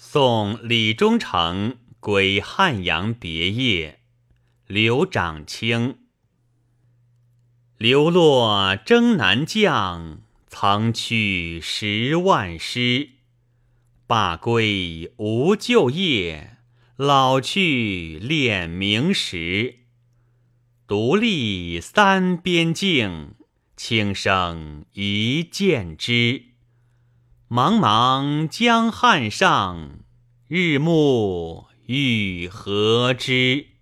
送李忠诚归汉阳别业，刘长卿。流落征南将，曾去10万师。罢归无旧业，老去练明时。独立3边境，轻声一剑之。茫茫江汉上，日暮欲何之？